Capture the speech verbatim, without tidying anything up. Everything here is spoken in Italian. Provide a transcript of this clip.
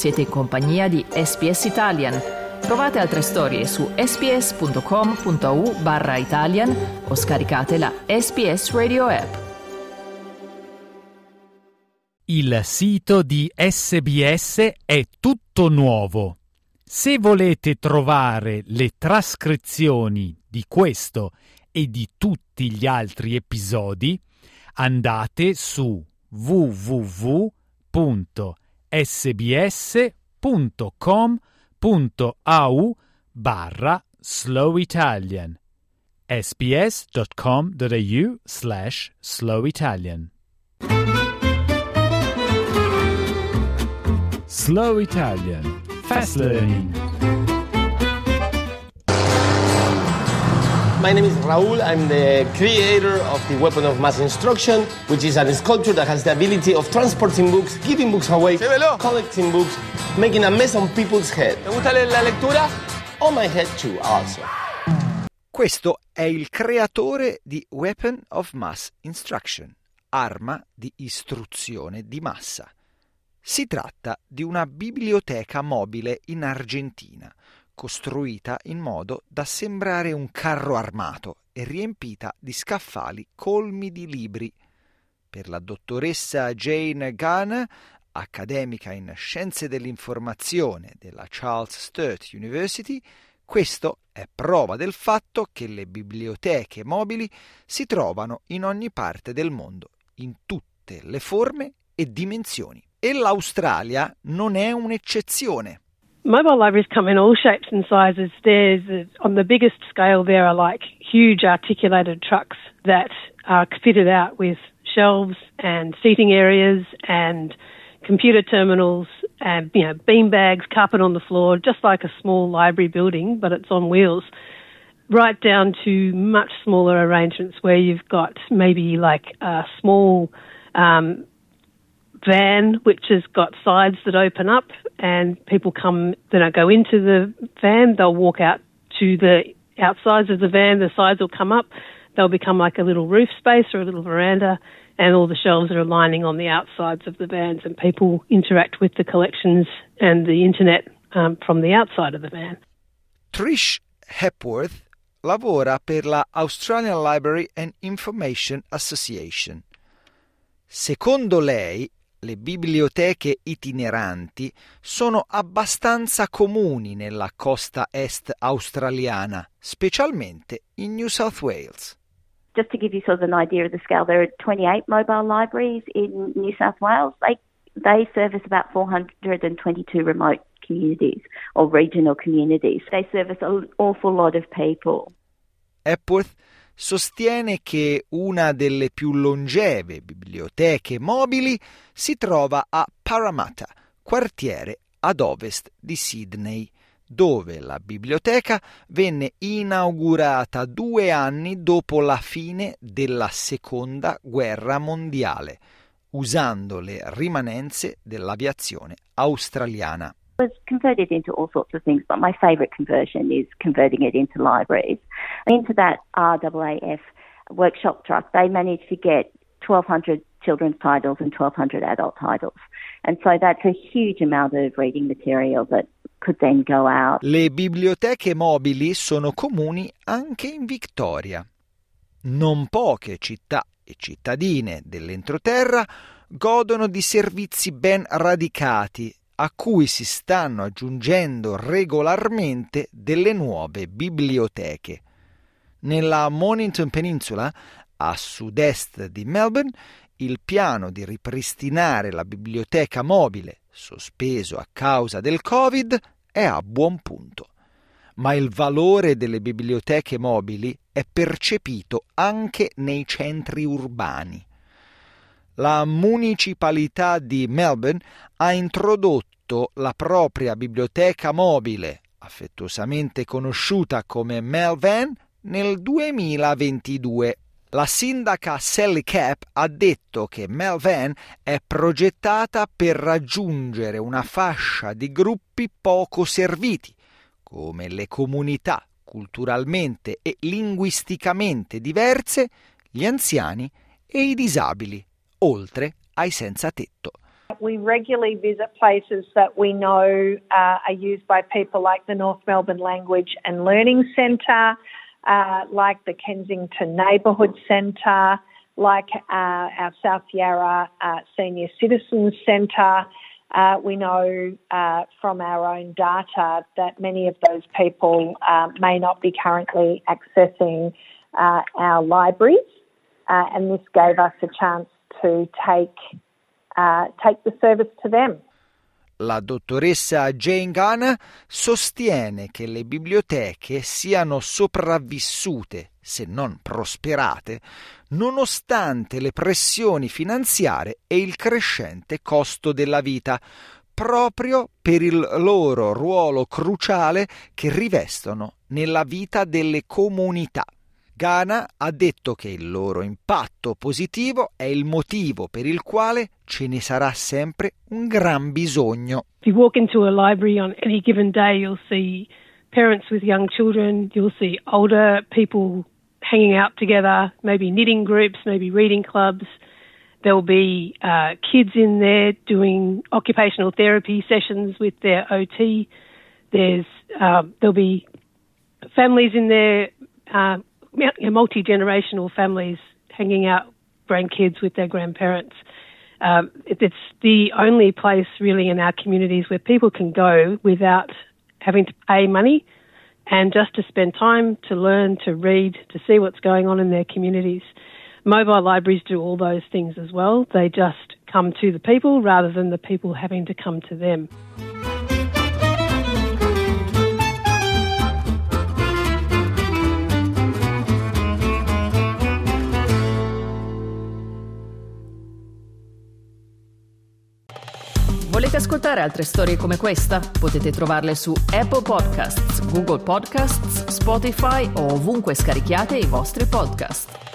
Siete in compagnia di S B S Italian. Trovate altre storie su sbs.com.au barra Italian o scaricate la S B S Radio app. Il sito di S B S è tutto nuovo. Se volete trovare le trascrizioni di questo e di tutti gli altri episodi, andate su w w w punto s b s punto com punto a u barra slow italian sbs.com.au slash slow Italian. Slow Italian. Fast learning. My name is Raul. I'm the creator of the Weapon of Mass Instruction, which is a sculpture that has the ability of transporting books, giving books away, collecting books, making a mess on people's head. ¿Te gusta la lectura? On my head too, also. Questo è il creatore di Weapon of Mass Instruction, arma di istruzione di massa. Si tratta di una biblioteca mobile in Argentina, costruita in modo da sembrare un carro armato e riempita di scaffali colmi di libri. Per la dottoressa Jane Gunn, accademica in scienze dell'informazione della Charles Sturt University, questo è prova del fatto che le biblioteche mobili si trovano in ogni parte del mondo, in tutte le forme e dimensioni. E l'Australia non è un'eccezione. Mobile libraries come in all shapes and sizes. There's, uh, on the biggest scale, there are like huge articulated trucks that are fitted out with shelves and seating areas and computer terminals and, you know, bean bags, carpet on the floor, just like a small library building, but it's on wheels, right down to much smaller arrangements where you've got maybe like a small um, van which has got sides that open up and people come, they don't go into the van, they'll walk out to the outsides of the van, the sides will come up, they'll become like a little roof space or a little veranda, and all the shelves are lining on the outsides of the vans and people interact with the collections and the internet um, from the outside of the van. Trish Hepworth lavora per la Australian Library and Information Association. Secondo lei, le biblioteche itineranti sono abbastanza comuni nella costa est australiana, specialmente in New South Wales. Just to give you sort of an idea of the scale, there are twenty-eight mobile libraries in New South Wales. They they service about four hundred twenty-two remote communities or regional communities. They service an awful lot of people. Epworth sostiene che una delle più longeve biblioteche mobili si trova a Parramatta, quartiere ad ovest di Sydney, dove la biblioteca venne inaugurata due anni dopo la fine della Seconda Guerra Mondiale, usando le rimanenze dell'aviazione australiana. It was converted into all sorts of things, but my favourite conversion is converting it into libraries. Into that R A A F workshop truck, they managed to get twelve hundred children's titles and twelve hundred adult titles. And so that's a huge amount of reading material that could then go out. Le biblioteche mobili sono comuni anche in Victoria. Non poche città e cittadine dell'entroterra godono di servizi ben radicati a cui si stanno aggiungendo regolarmente delle nuove biblioteche. Nella Mornington Peninsula, a sud-est di Melbourne, il piano di ripristinare la biblioteca mobile, sospeso a causa del Covid, è a buon punto. Ma il valore delle biblioteche mobili è percepito anche nei centri urbani. La municipalità di Melbourne ha introdotto la propria biblioteca mobile, affettuosamente conosciuta come Melvan, nel duemilaventidue. La sindaca Sally Capp ha detto che Melvan è progettata per raggiungere una fascia di gruppi poco serviti, come le comunità culturalmente e linguisticamente diverse, gli anziani e i disabili, oltre ai senza tetto. We regularly visit places that we know uh, are used by people like the North Melbourne Language and Learning Centre, uh, like the Kensington Neighbourhood Centre, like uh, our South Yarra uh, Senior Citizens Centre. Uh, we know uh, from our own data that many of those people uh, may not be currently accessing uh, our libraries, uh, and this gave us a chance to take uh, take the service to them. La dottoressa Jane Gunn sostiene che le biblioteche siano sopravvissute, se non prosperate, nonostante le pressioni finanziarie e il crescente costo della vita, proprio per il loro ruolo cruciale che rivestono nella vita delle comunità. Ghana ha detto che il loro impatto positivo è il motivo per il quale ce ne sarà sempre un gran bisogno. If you walk into a library on any given day, you'll see parents with young children, you'll see older people hanging out together, maybe knitting groups, maybe reading clubs. There'll be uh, kids in there doing occupational therapy sessions with their O T. There's uh, there'll be families in there, uh, multi-generational families hanging out, grandkids with their grandparents. Um, it's the only place really in our communities where people can go without having to pay money and just to spend time to learn, to read, to see what's going on in their communities. Mobile libraries do all those things as well. They just come to the people rather than the people having to come to them. Volete ascoltare altre storie come questa? Potete trovarle su Apple Podcasts, Google Podcasts, Spotify o ovunque scarichiate i vostri podcast.